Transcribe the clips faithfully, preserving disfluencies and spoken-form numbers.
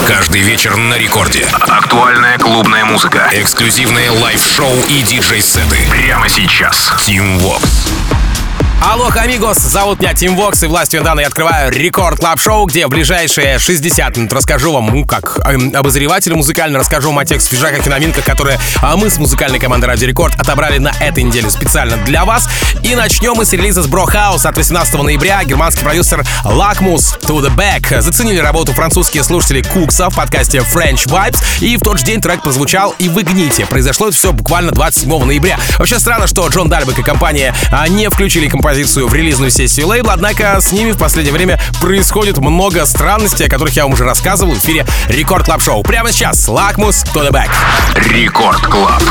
Каждый вечер на рекорде. Актуальная клубная музыка. Эксклюзивные лайв-шоу и диджей-сеты. Прямо сейчас. Team Vox. Алло, амигос, зовут меня Team Vox, и властью данной я открываю Рекорд Клаб Шоу, где в ближайшие шестьдесят минут расскажу вам, ну, как эм, обозреватель музыкально, расскажу вам о тех свежаках и новинках, которые а, мы с музыкальной командой Радио Рекорд отобрали на этой неделе специально для вас. И начнем мы с релиза с Bro House от восемнадцатого ноября. Германский продюсер Lakmus To The Back заценили работу французские слушатели Кукса в подкасте French Vibes, и в тот же день трек прозвучал и в Игните. Произошло это все буквально двадцать седьмого ноября. Вообще странно, что Джон Дальбек и компания а, не включили композицию в релизную сессию лейбла, однако с ними в последнее время происходит много странностей, о которых я вам уже рассказывал в эфире Рекорд Клаб Шоу. Прямо сейчас Lakmus To The Back. Рекорд Клаб.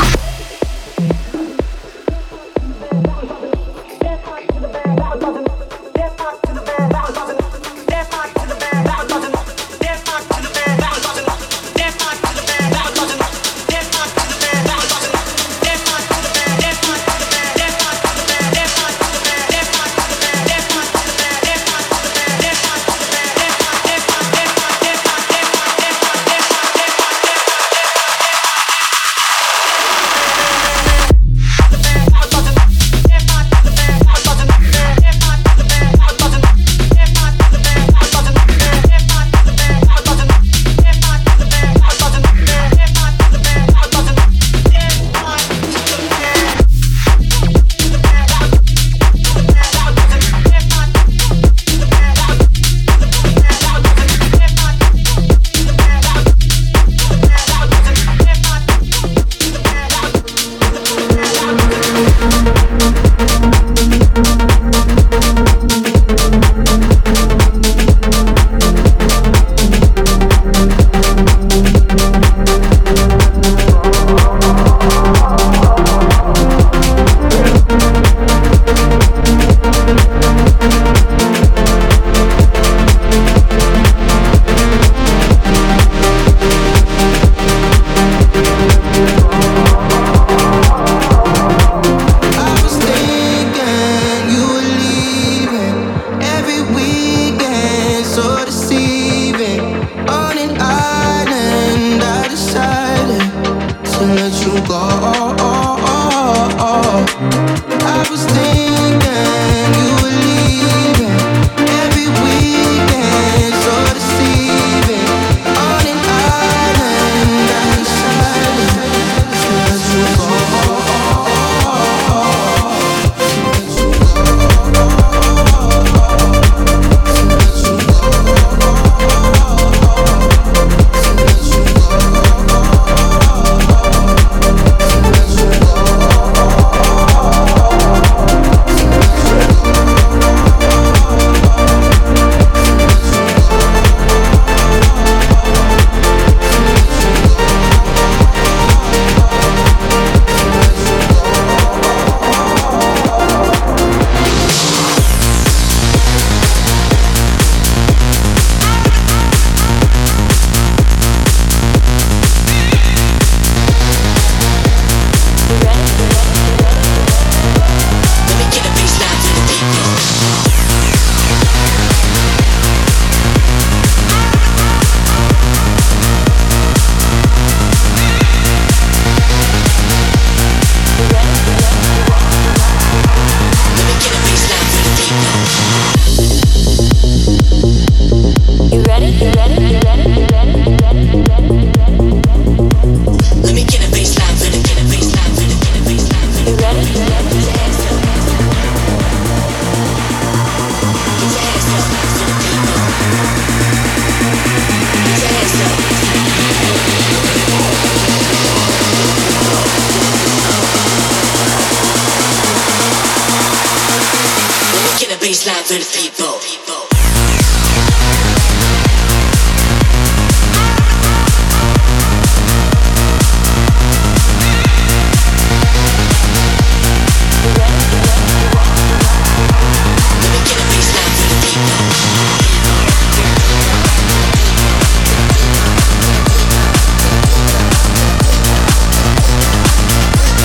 baseline for the people.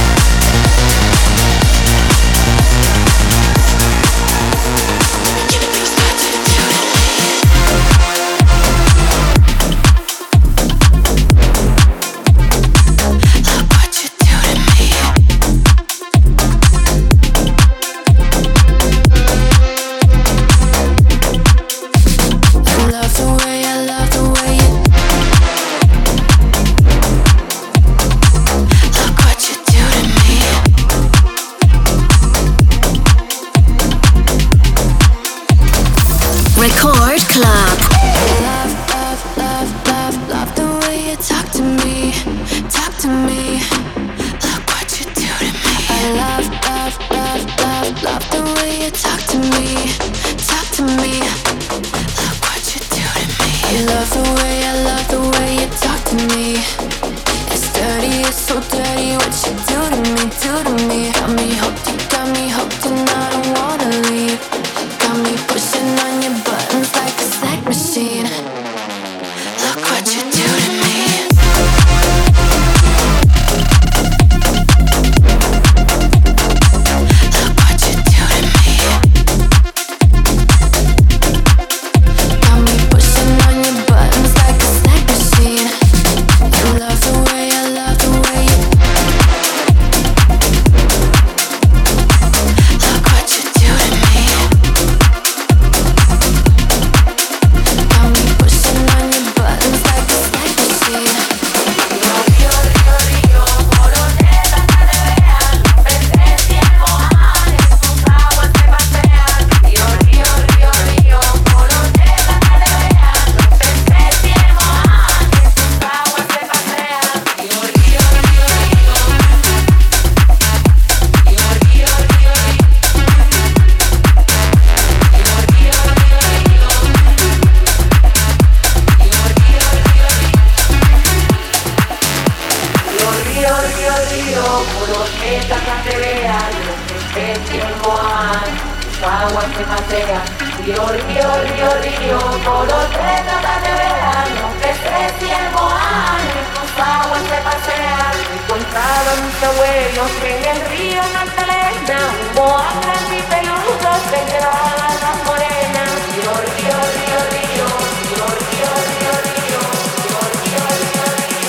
Get tiempo hay, sus aguas se pasean. Río, río, río, río, por los tres notas de verano, peces tiempo hay, sus aguas se pasean. Encontraron muchos huellos en el río Magdalena, hubo anclas y peludos que llevaban las morenas. Río, río, río, río, río, río, río, río, río, río, río, río.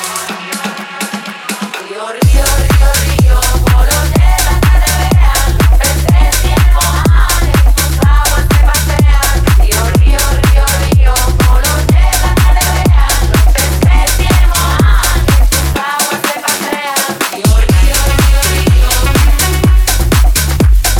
Río, río, río, río, por los tres notas de verano, peces tiempo hay, sus aguas se pasean. Río, río, río, río, por los tres notas de verano, peces tiempo hay, sus aguas se pasean. Río, río, río, río.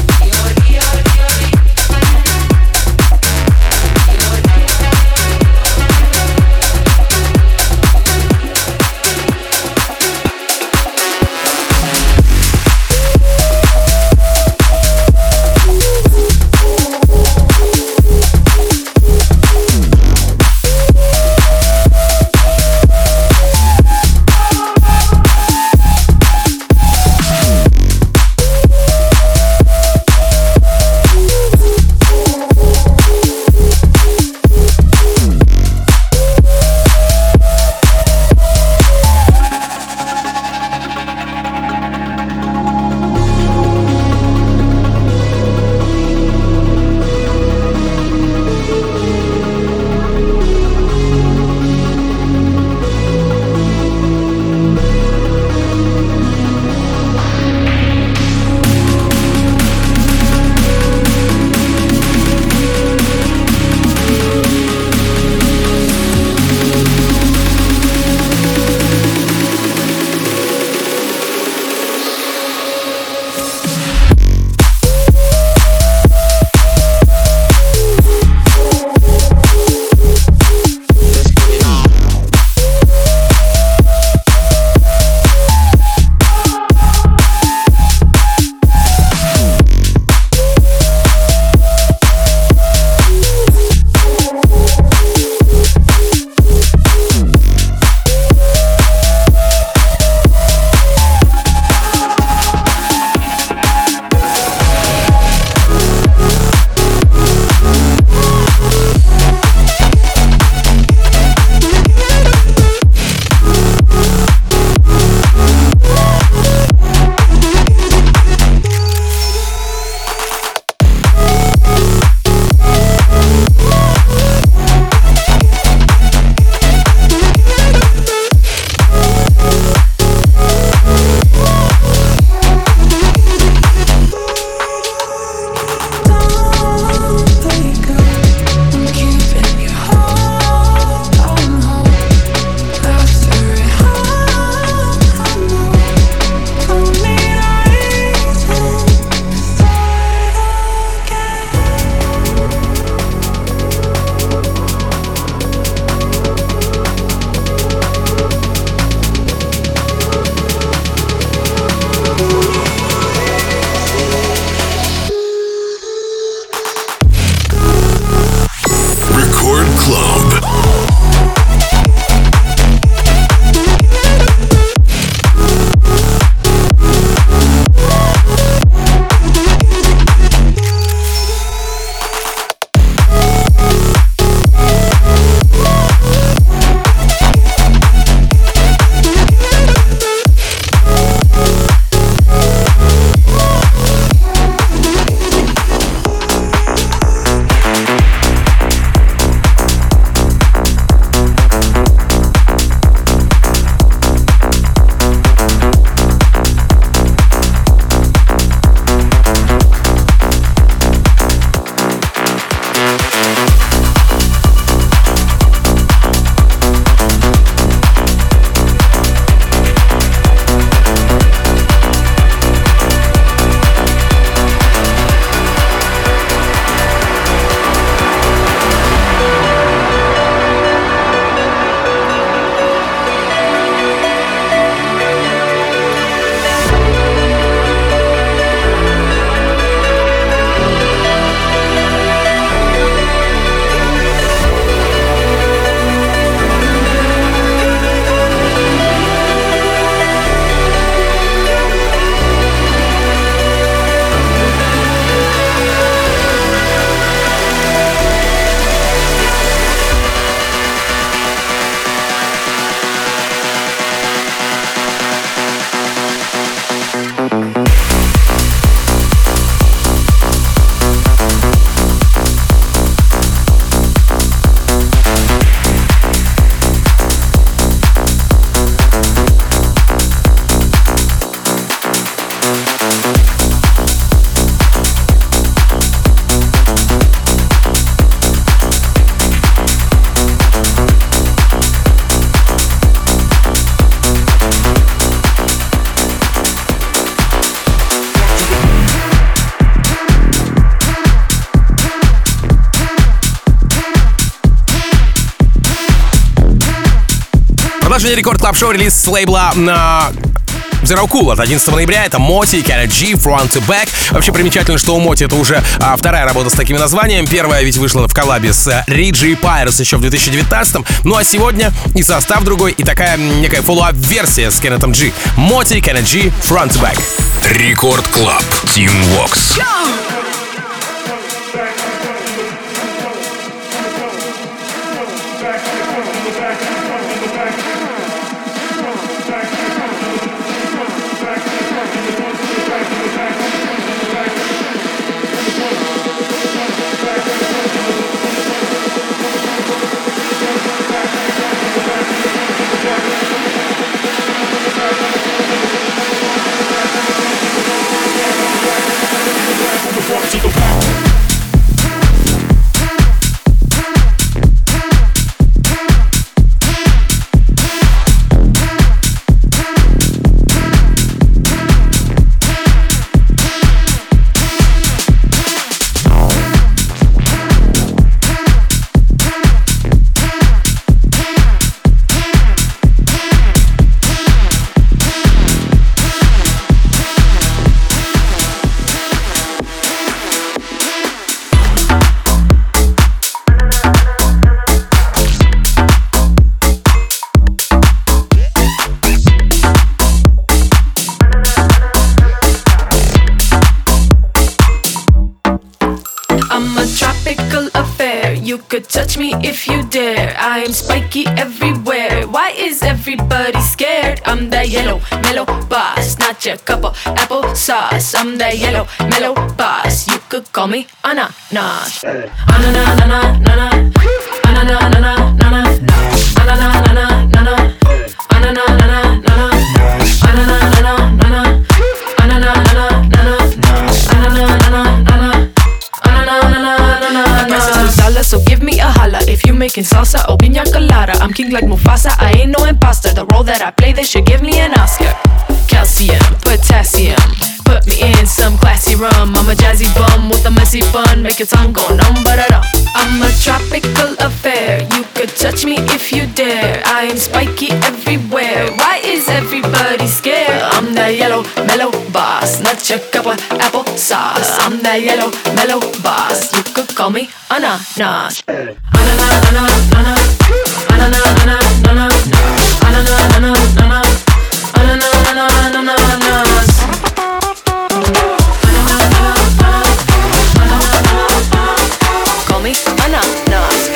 Продолжение Рекорд Клаб Шоу, релиз с лейбла на Zero Cool от одиннадцатого ноября. Это Моти, Kenna G, Front to Back. Вообще примечательно, что у Моти это уже а, вторая работа с таким названием. Первая ведь вышла в коллабе с Риджи и Пайрос еще в две тысячи девятнадцатом. Ну а сегодня и состав другой, и такая некая фоллоуап-версия с Кеннетом G. Моти, Kenna G, Front to Back. Рекорд Клаб, Team Vox. To the back. Touch me if you dare. I am spiky everywhere. Why is everybody scared? I'm that yellow mellow boss, not your cup of apple sauce. I'm that yellow mellow boss. You could call me ananas. Ananas, ananas, ananas, ananas, ananas, ananas, ananas, ananas, ananas, ananas, ananas, ananas, ananas, so give me a holla if you making salsa or piña colada. I'm king like Mufasa, I ain't no imposter. The role that I play, they should give me an Oscar. Calcium, potassium, put me in some classy rum. I'm a jazzy bum with a messy bun, make your tongue go numb, but I don't. I'm a tropical affair, you could touch me if you dare. I am spiky everywhere, why is everybody scared? I'm that yellow mellow boss, not your cup of apple sauce. I'm that yellow mellow boss, you could call me ananas. Ananas, ananas, ananas, ananas, ananas, ananas, ananas, ananas, ananas. Call me ananas.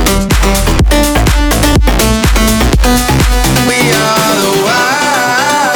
We are the wild.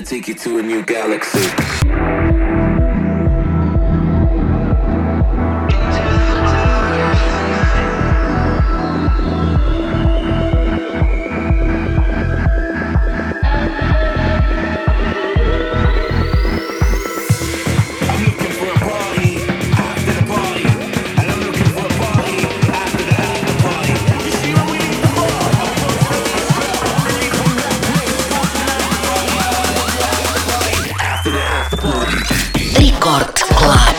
take you to a new galaxy. Рекорд Клаб.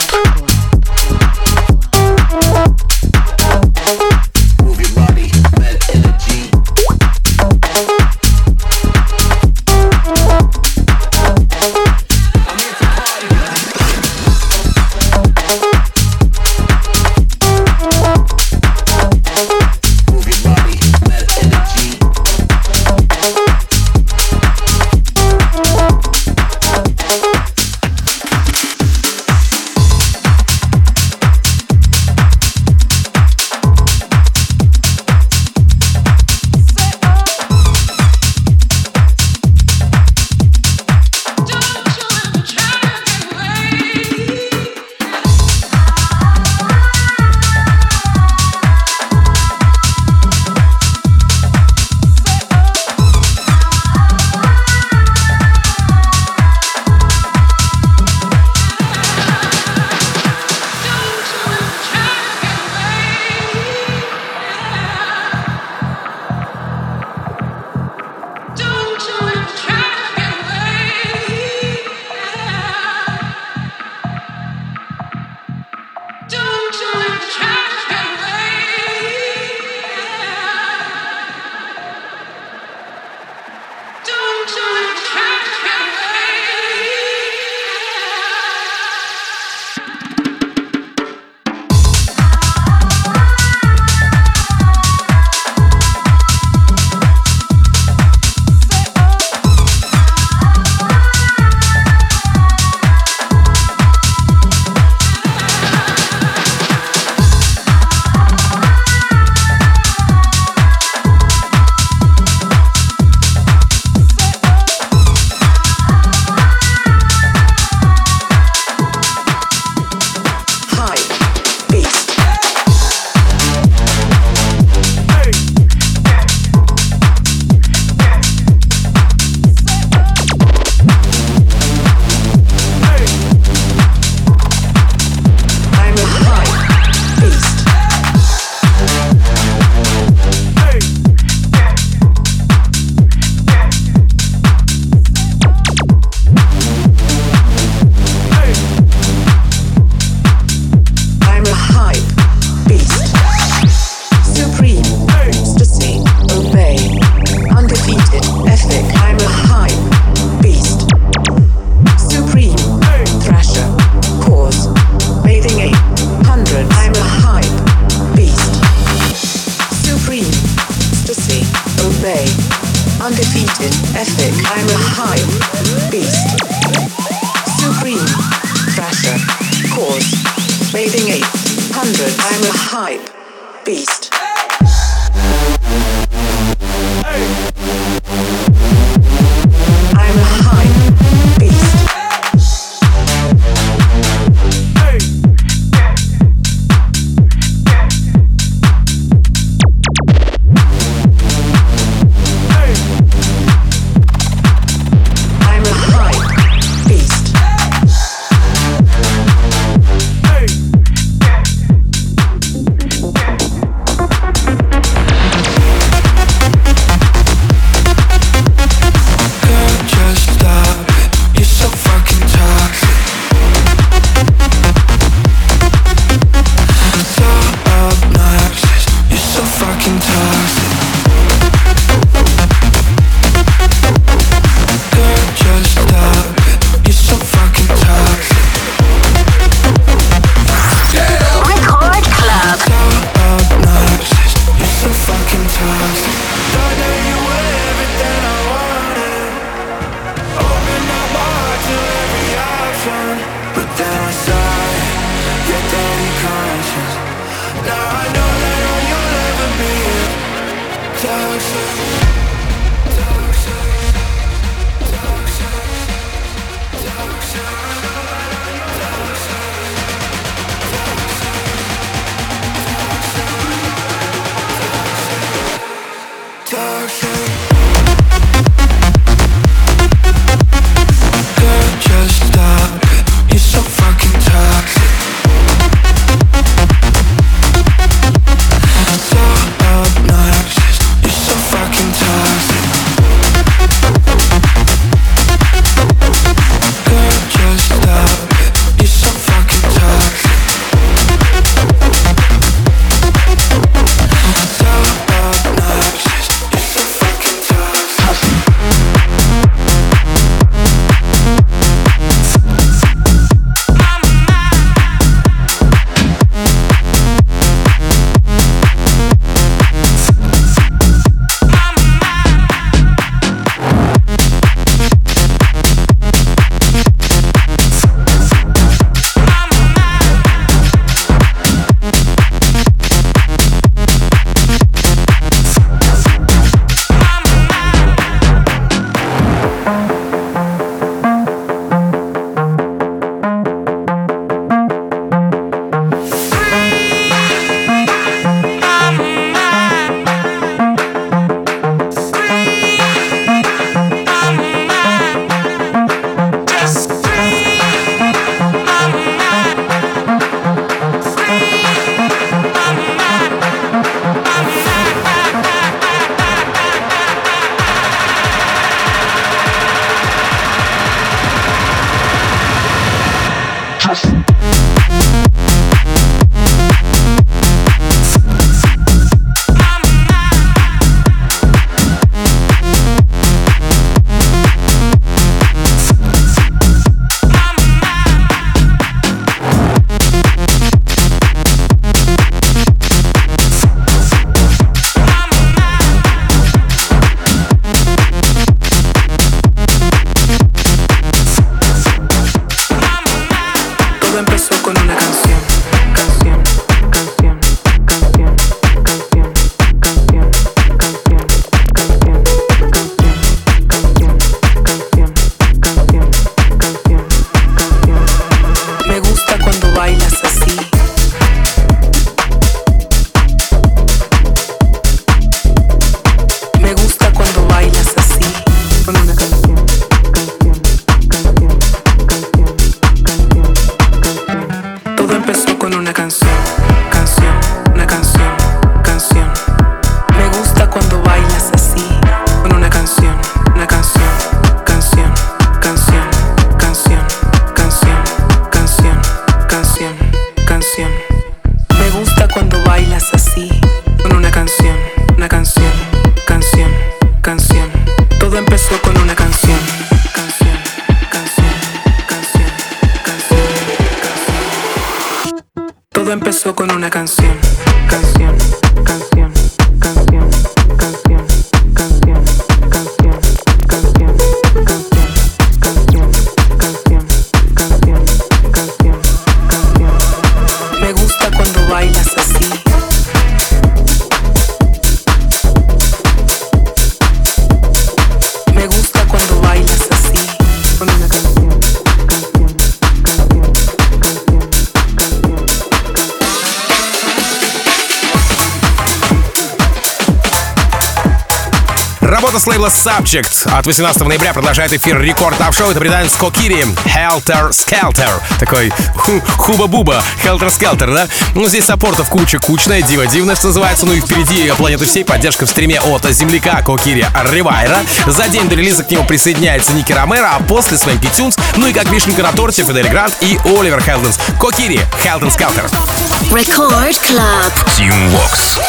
Работа с лейбла Subject от восемнадцатого ноября продолжает эфир Рекорд Клаб Шоу. Это британец Кокири, Helter Skelter. Такой ху хуба-буба, Helter Skelter, да? Ну, здесь саппортов куча, кучная, дива-дивная, что называется. Ну и впереди планеты всей поддержка в стриме от земляка Кокири Ривайра. За день до релиза к нему присоединяется Ники Ромеро, а после Свенки Тюнс. Ну и как вишенка на торте Фидель Грант и Оливер Хелденс. Кокири, Helter Skelter. Record Club. Team Vox.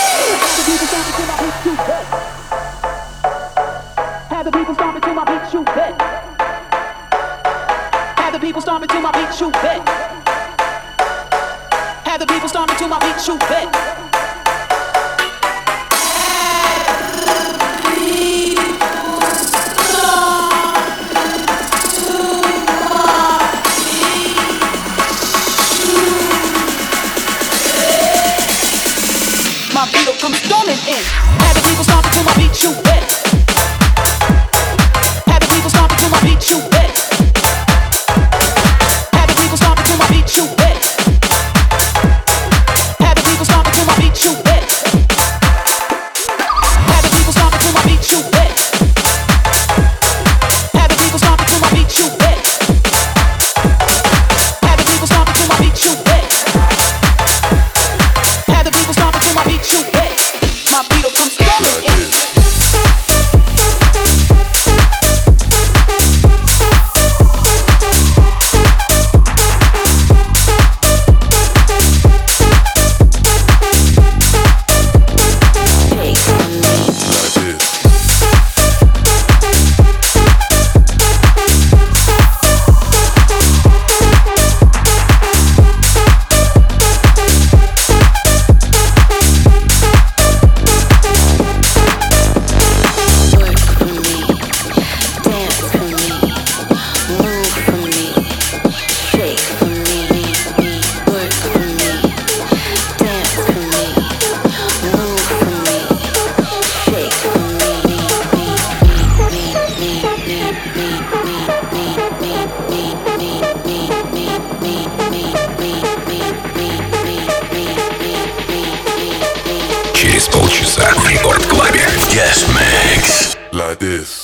Have the people stomping to my beat, shoot back. Have the people stomping to my beat, shoot back. Have the people stomping to my beat, shoot back. My beat will come storming in. Have the people stomping to my beat, shoot back. Have the people stomping to my beat, shoot back. Have the people stomping to my beat, shoot back. Have the people stomping to my beat, shoot back. Have the people stomping to my beat, shoot back. Have the people stomping to my beat, shoot back. Have the people stomping to my beat, shoot back. Have the people stomping to my beat, shoot back. My beat will come storming in. Через полчаса в Рекорд Клабе. Guest Mix. Like this.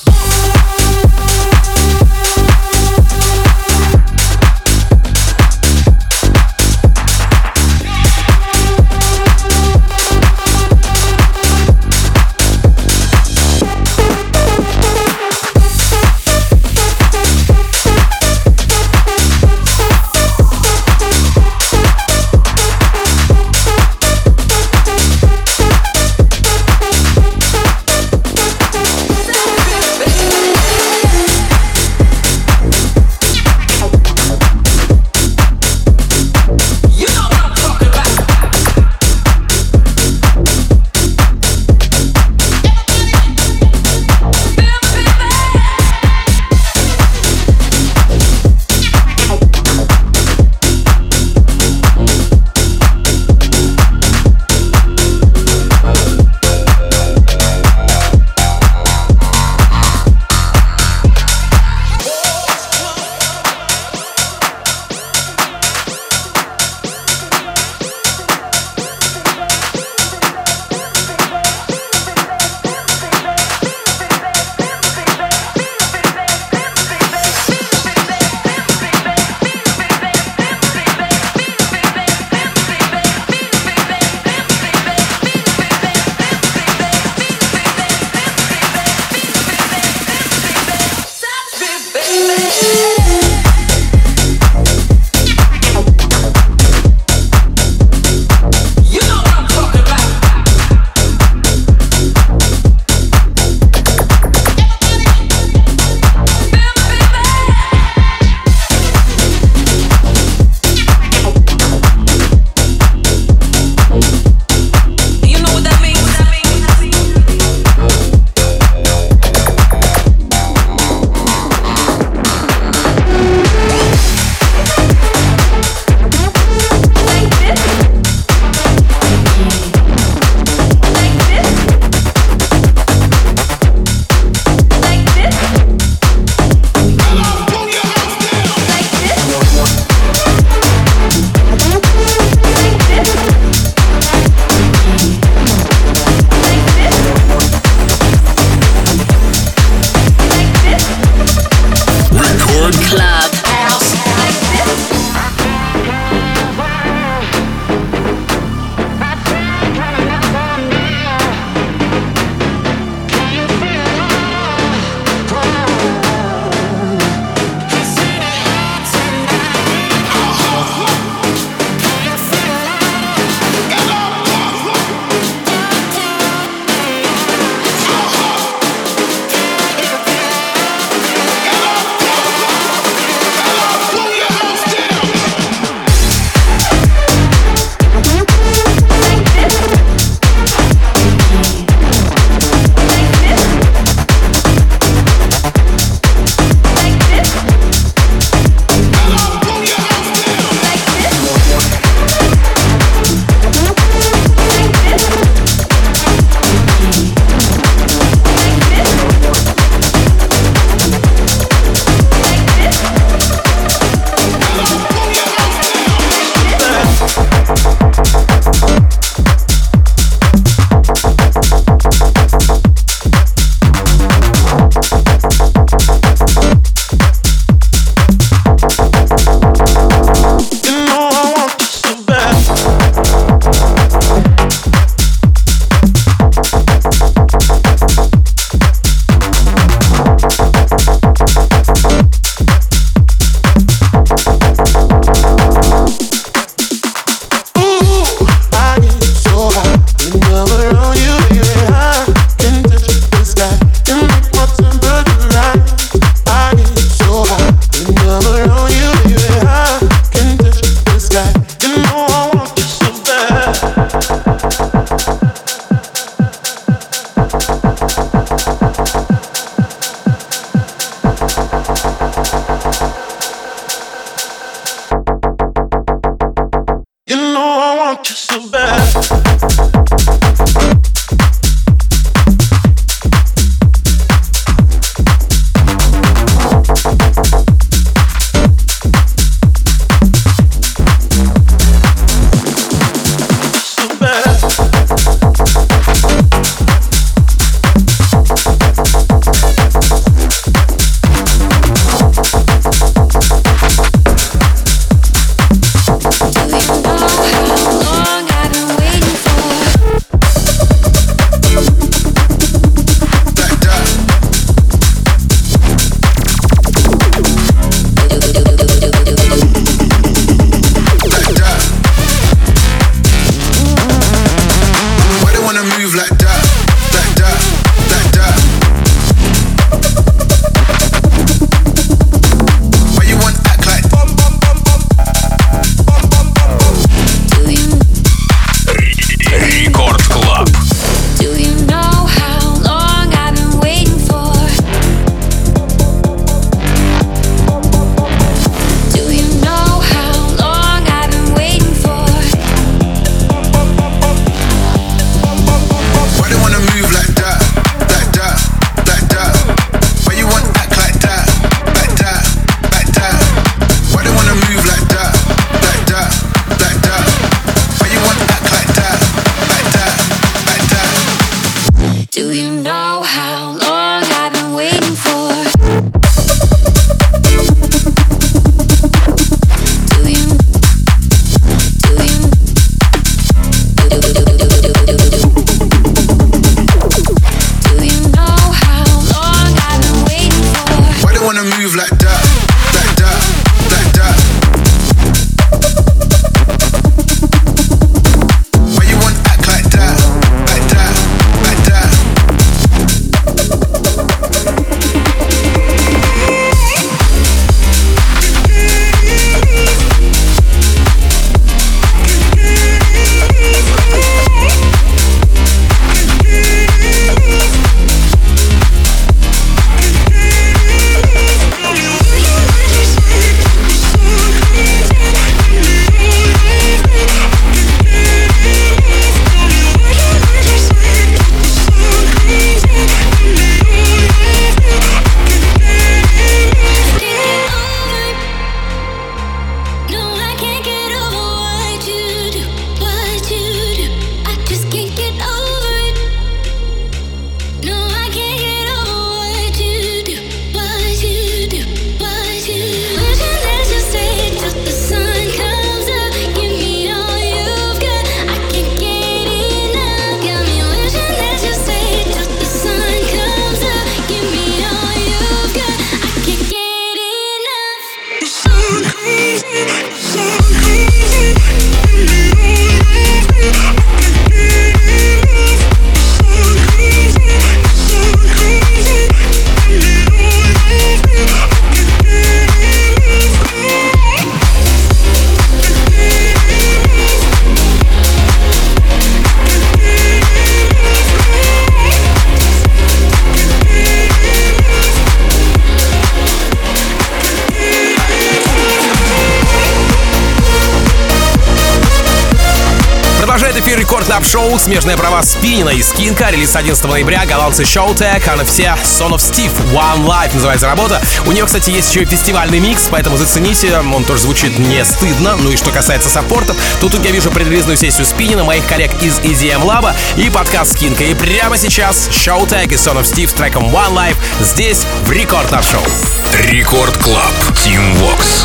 Это эфир Рекорд Клаб Шоу, смежные права Спинина и Скинка, релиз одиннадцатого ноября, голландцы Showtek, а на все Son of Steve, One Life называется работа. У нее, кстати, есть еще и фестивальный микс, поэтому зацените, он тоже звучит не стыдно. Ну и что касается саппортов, то тут я вижу предрелизную сессию Спинина, моих коллег из и ди эм Lab и подкаст Скинка. И прямо сейчас Showtek и Son of Steve с треком One Life здесь в Рекорд Клаб Шоу. Рекорд Клаб, Team Vox.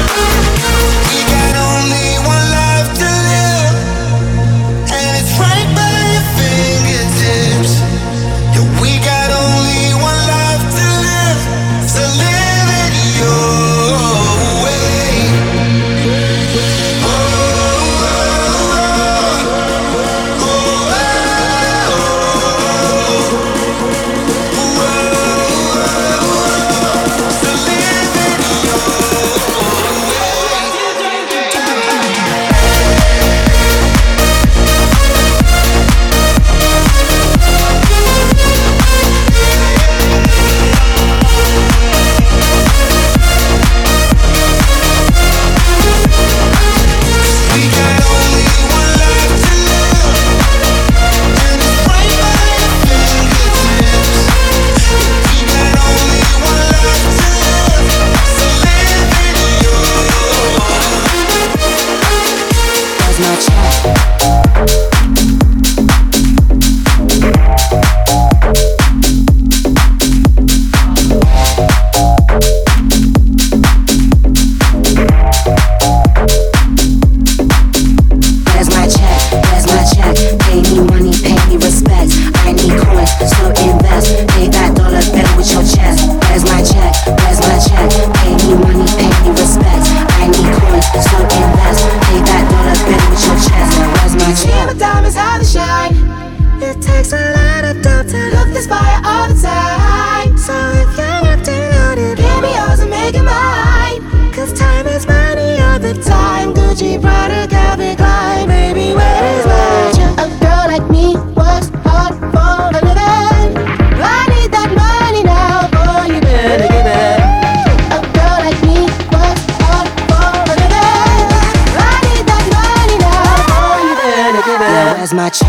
My check.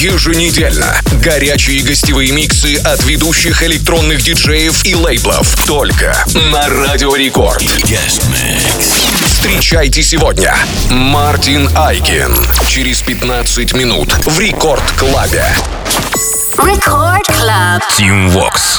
Еженедельно горячие гостевые миксы от ведущих электронных диджеев и лейблов. Только на Радио Рекорд. Встречайте сегодня Мартин Айкин. Через пятнадцать минут в Рекорд Клабе. Record Club. Team Vox.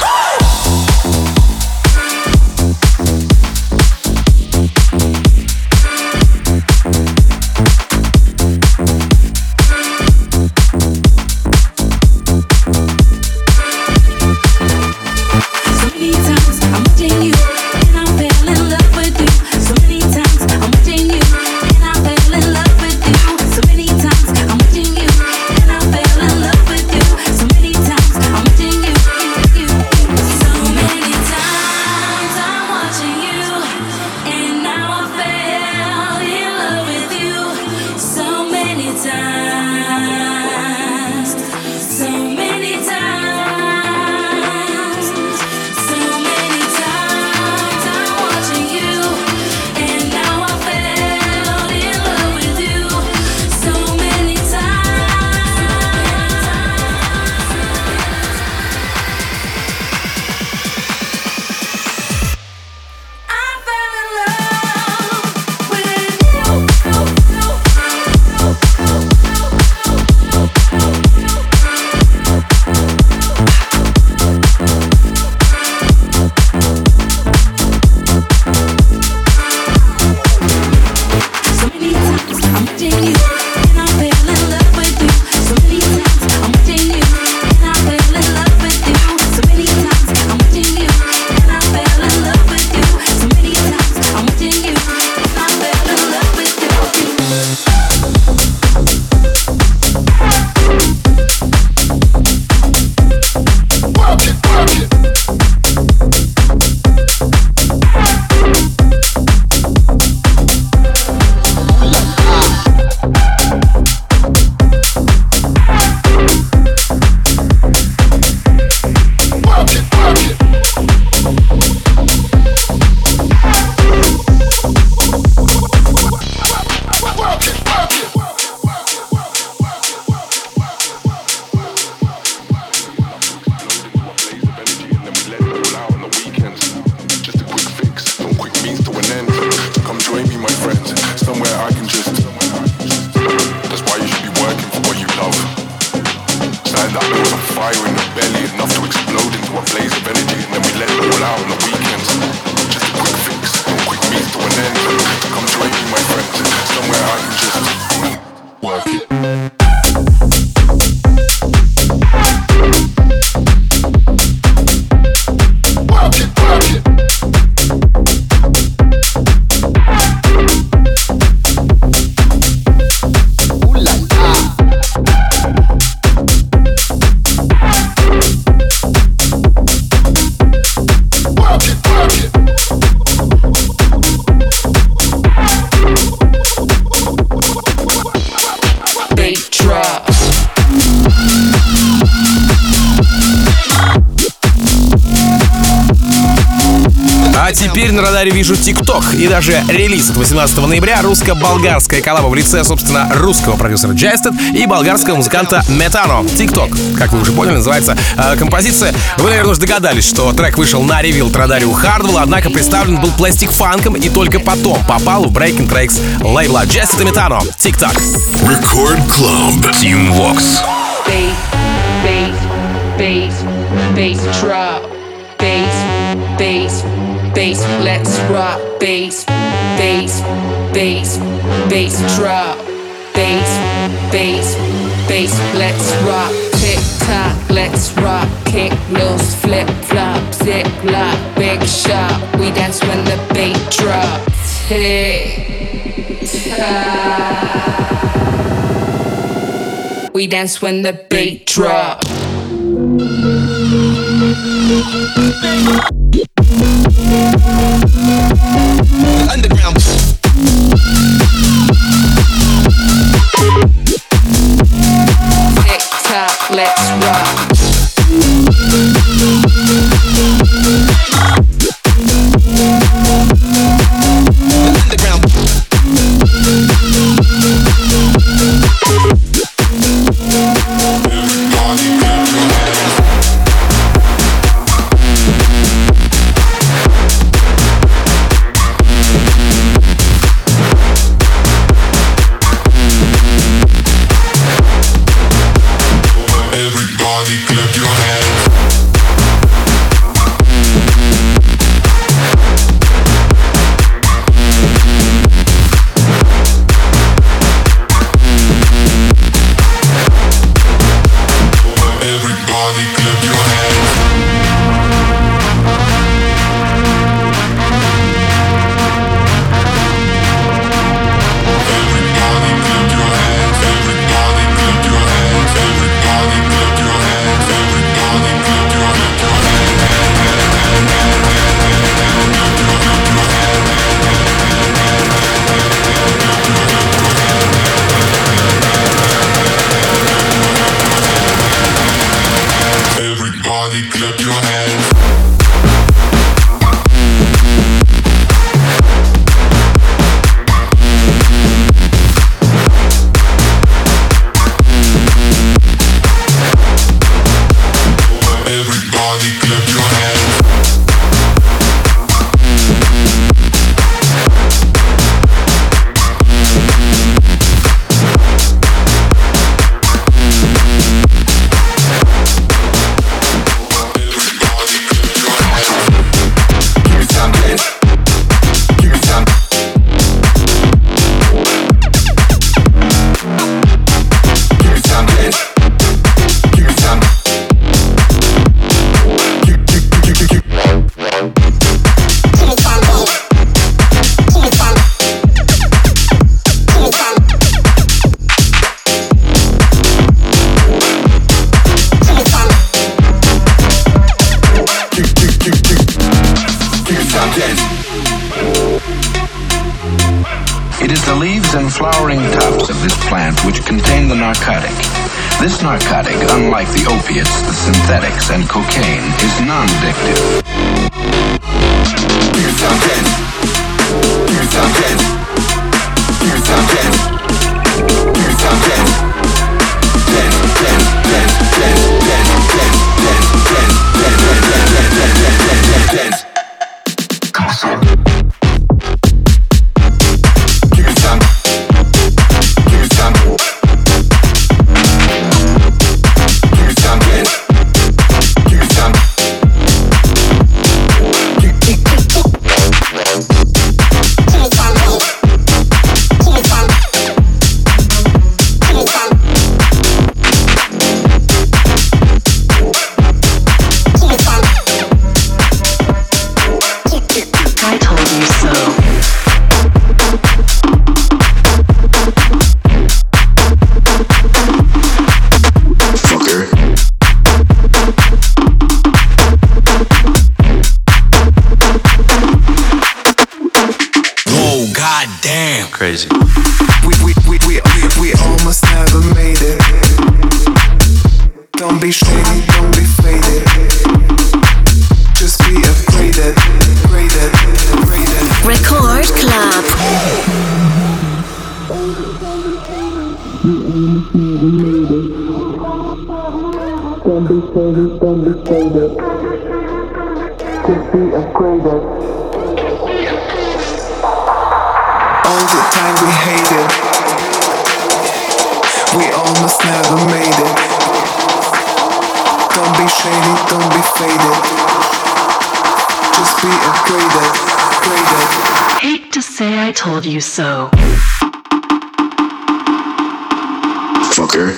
Теперь на радаре вижу ТикТок и даже релиз от восемнадцатого ноября. Русско-болгарская коллаба в лице, собственно, русского продюсера Джайстед и болгарского музыканта Метано. ТикТок, как вы уже поняли, называется э, композиция. Вы, наверное, уже догадались, что трек вышел на ревил Радарио Хардвелла, однако представлен был пластик-фанком и только потом попал в Breaking Tracks лейбла Джайстед и Метано. ТикТок. Record Club. Team Vox. Bass, bass, bass, bass drop. Bass, bass, bass, let's rock. Bass, bass, bass, bass drop. Bass, bass, bass, let's rock. Tick tock, let's rock. Kick loose, flip flop, zip lock, big shot. We dance when the beat drops. Tick tock. We dance when the beat drops. Underground. Tick tock, let's rock. Underground. Yeah. Everybody clap your hands. Everybody clap your hands. It is the leaves and flowering tufts of this plant which contain the narcotic. This narcotic, unlike the opiates, the synthetics, and cocaine, is non-addictive. Give me some dance. Give me some dance. Give me some dance. Give me some dance. Dance, dance, dance, dance, dance, dance, dance, dance, dance, dance, dance, dance, dance, dance. Come on, son. Give me some. Give me some. Give me some dance. Give me some. Give me I told you so. Fucker. Whoa, goddamn. Crazy. We, we, we, we, we, we almost never made it. Don't be shady, don't be faded. Just be upgraded, upgraded, upgraded. Record Club. Don't be shady, don't be faded. Just be upgraded. All the time we hated. We almost never made it. Don't be shady, don't be faded. Just be upgraded, upgraded. Hate to say I told you so. Fucker.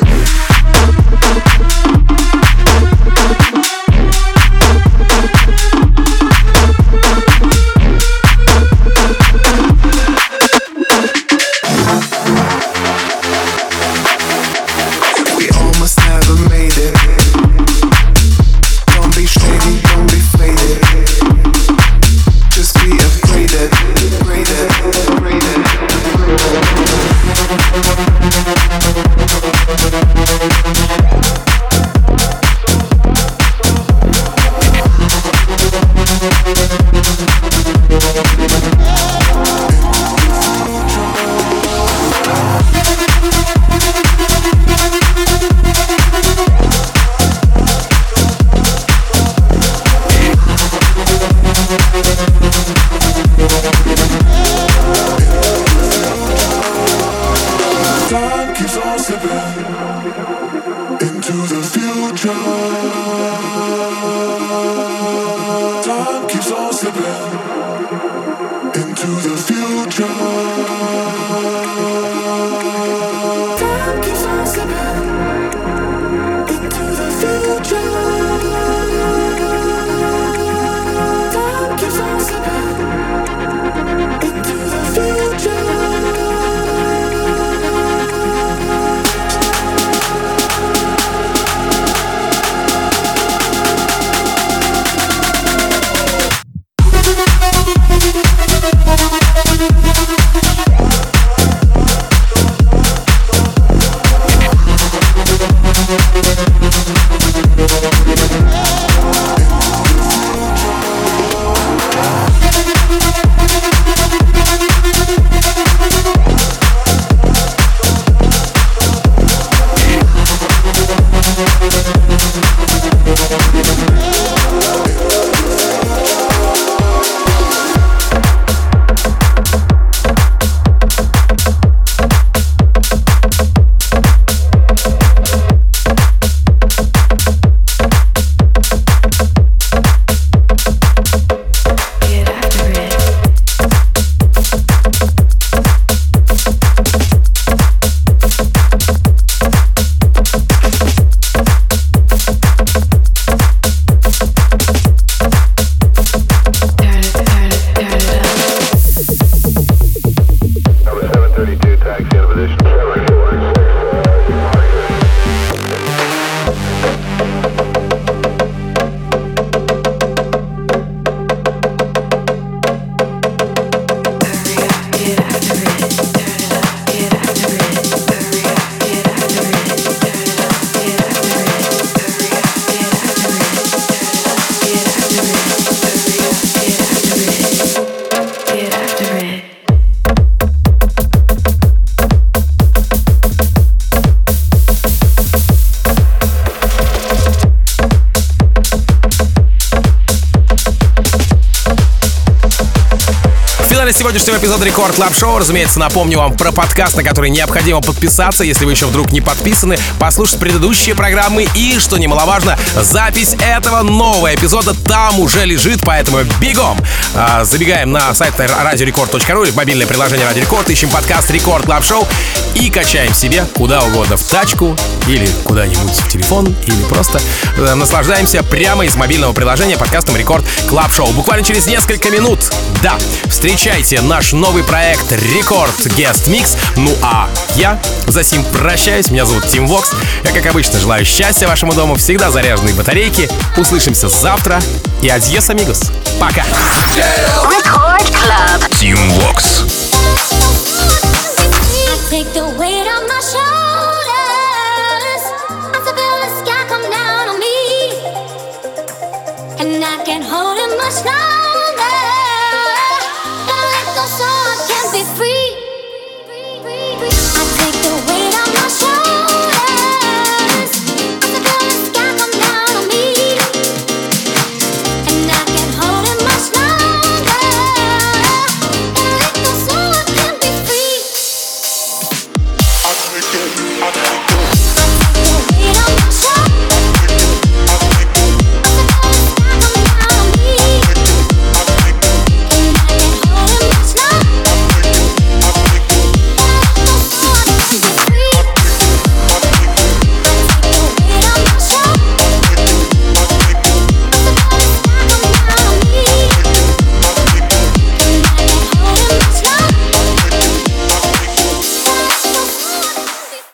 We almost never made it. Don't be shady, don't be faded. Just be upgraded, upgraded, upgraded, Time keeps on slipping into the future. Time keeps on slipping into the future. Time keeps on slipping into the future. Time keeps on slipping into the future. финале сегодняшнего эпизода Рекорд Клаб Шоу, разумеется, напомню вам про подкаст, на который необходимо подписаться, если вы еще вдруг не подписаны, послушать предыдущие программы и, что немаловажно, запись этого нового эпизода там уже лежит, поэтому бегом! А, забегаем на сайт радиорекорд точка ру или в мобильное приложение Радио Рекорд, ищем подкаст Рекорд Клаб Шоу и качаем себе куда угодно, в тачку или куда-нибудь в телефон, или просто э, наслаждаемся прямо из мобильного приложения подкастом Рекорд Клаб Шоу. Буквально через несколько минут, да, встречайте наш новый проект Рекорд Guest Mix. Ну а я за сим прощаюсь. Меня зовут Тим Вокс. Я, как обычно, желаю счастья вашему дому, всегда заряженные батарейки. Услышимся завтра и адьос, амигос. Пока. Record Club. Тим Вокс. Take the weight off my shoulders. I feel the sky come down on me, and I can't hold it much longer.